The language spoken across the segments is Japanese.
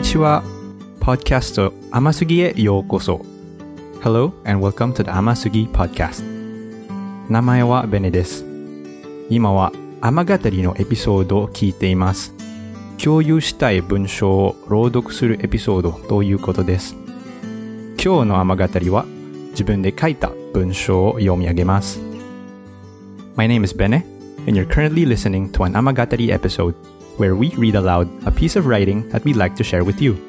ちは。ポッドキャスト甘すぎへようこそ。Hello and welcome to the 甘すぎ Podcast。名前はベネです。今は甘語りのエピソードを聞いています。共有したい文章を朗読するエピソードということです。今日の甘語りは自分で書いた文章を読み上げます。My name is Bene, and you're currently listening to an Amagatari episode where we read aloud a piece of writing that we'd like to share with you.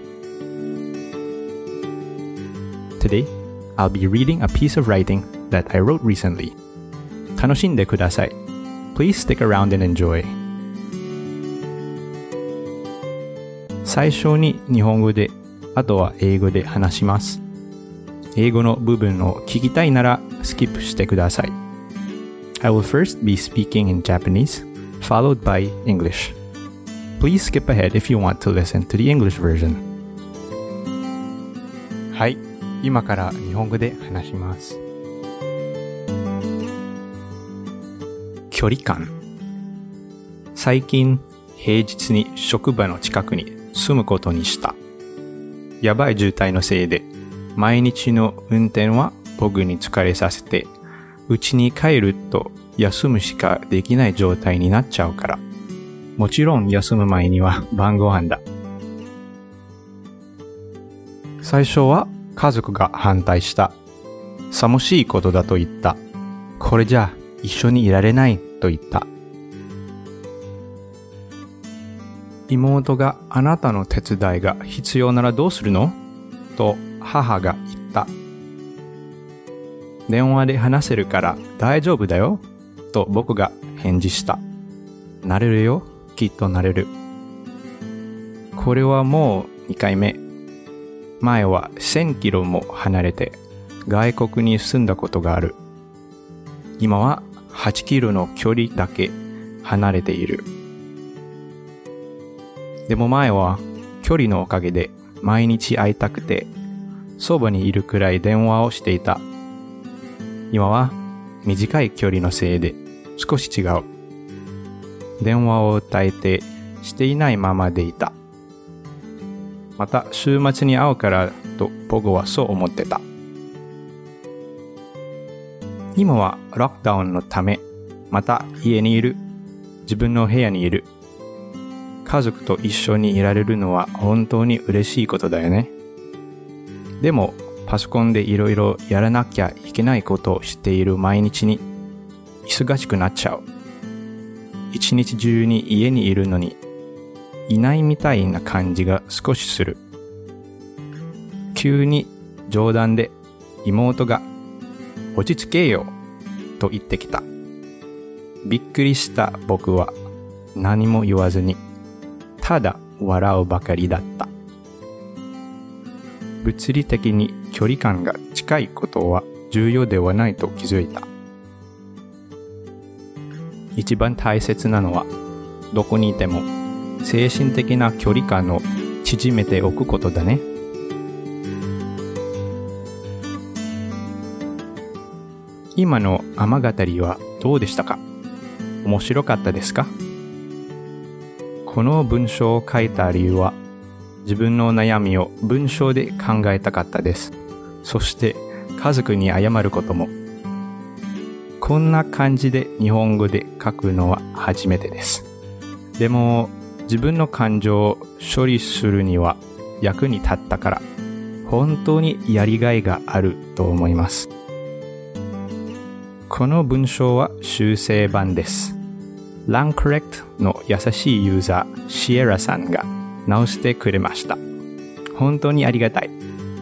Today, I'll be reading a piece of writing that I wrote recently. 楽しんでください。Please stick around and enjoy. 最初に日本語で、あとは英語で話します。英語の部分を聞きたいならスキップしてください。I will first be speaking in Japanese, followed by English. Please skip ahead if you want to listen to the English version. はい、今から日本語で話します。距離感。最近、平日に職場の近くに住むことにした。やばい渋滞のせいで、毎日の運転は僕に疲れさせて、家に帰ると休むしかできない状態になっちゃうから。もちろん休む前には晩ご飯だ。最初は家族が反対した。寂しいことだと言った。これじゃ一緒にいられないと言った。妹があなたの手伝いが必要ならどうするの？と母が言った。電話で話せるから大丈夫だよ。と僕が返事した。なれるよ。きっとなれる。これはもう2回目。前は1000キロも離れて外国に住んだことがある。今は8キロの距離だけ離れている。でも前は距離のおかげで毎日会いたくてそばにいるくらい電話をしていた。今は短い距離のせいで少し違う。電話を耐えてしていないままでいた。また週末に会うからと僕はそう思ってた。今はロックダウンのため、また家にいる。自分の部屋にいる。家族と一緒にいられるのは本当に嬉しいことだよね。でもパソコンでいろいろやらなきゃいけないことをしている毎日に忙しくなっちゃう。一日中に家にいるのにいないみたいな感じが少しする。急に冗談で妹が落ち着けよと言ってきた。びっくりした僕は何も言わずにただ笑うばかりだった。物理的に距離感が近いことは重要ではないと気づいた。一番大切なのはどこにいても精神的な距離感を縮めておくことだね。今の甘語りはどうでしたか？面白かったですか？この文章を書いた理由は自分の悩みを文章で考えたかったです。そして家族に謝ることも。こんな感じで日本語で書くのは初めてです。でも自分の感情を処理するには役に立ったから本当にやりがいがあると思います。この文章は修正版です。LangCorrect の優しいユーザーシエラさんが直してくれました。本当にありがたい。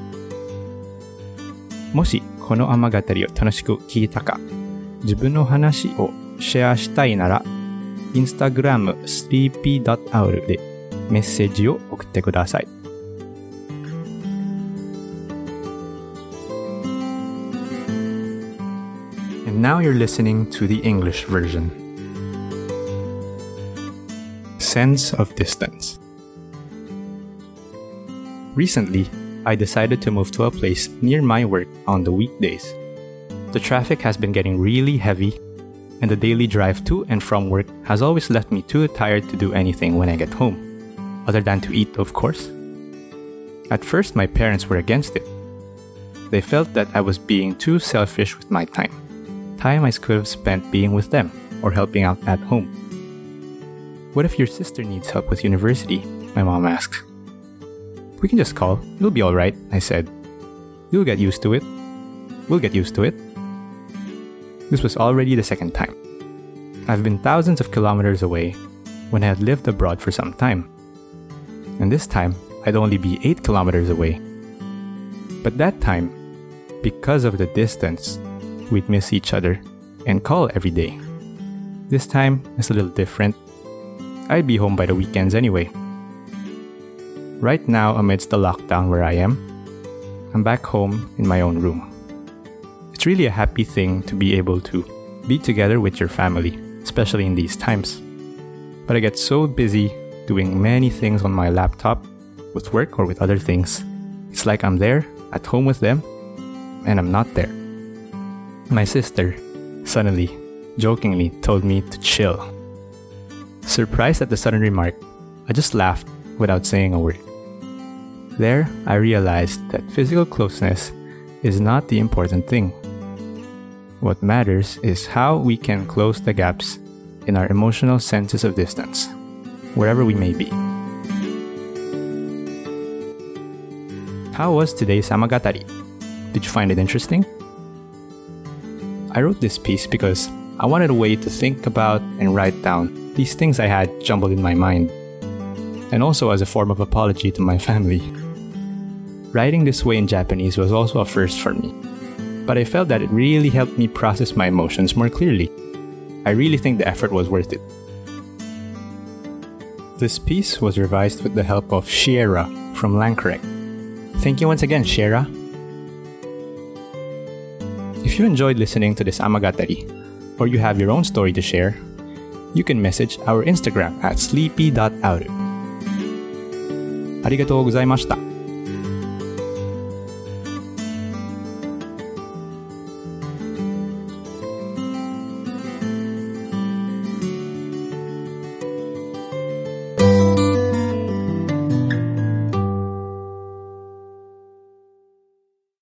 もしこの甘語りを楽しく聞いたか、自分の話をシェアしたいなら、Instagram sleepy.owl でメッセージを送ってください。And now you're listening to the English version. Sense of distance. Recently, I decided to move to a place near my work on the weekdays. The traffic has been getting really heavy, and the daily drive to and from work has always left me too tired to do anything when I get home, other than to eat, of course. At first, my parents were against it. They felt that I was being too selfish with my time I could have spent being with them or helping out at home. What if your sister needs help with university? My mom asked. We can just call. It'll be alright, I said. You'll get used to it. We'll get used to it. This was already the second time. I've been thousands of kilometers away when I had lived abroad for some time. And this time, I'd only be 8 kilometers away. But that time, because of the distance, we'd miss each other and call every day. This time is a little different. I'd be home by the weekends anyway. Right now, amidst the lockdown where I am, I'm back home in my own room. It's really a happy thing to be able to be together with your family, especially in these times. But I get so busy doing many things on my laptop, with work or with other things. It's like I'm there, at home with them, and I'm not there. My sister, suddenly, jokingly told me to chill. Surprised at the sudden remark, I just laughed without saying a word. There, I realized that physical closeness is not the important thing. What matters is how we can close the gaps in our emotional senses of distance, wherever we may be. How was today's Amagatari? Did you find it interesting? I wrote this piece because I wanted a way to think about and write down these things I had jumbled in my mind, and also as a form of apology to my family. Writing this way in Japanese was also a first for me, but I felt that it really helped me process my emotions more clearly. I really think the effort was worth it. This piece was revised with the help of Shiera from Langcorrect. Thank you once again, Shiera. If you enjoyed listening to this Amagatari, or you have your own story to share, you can message our Instagram at sleepy.auru. ありがとうございました。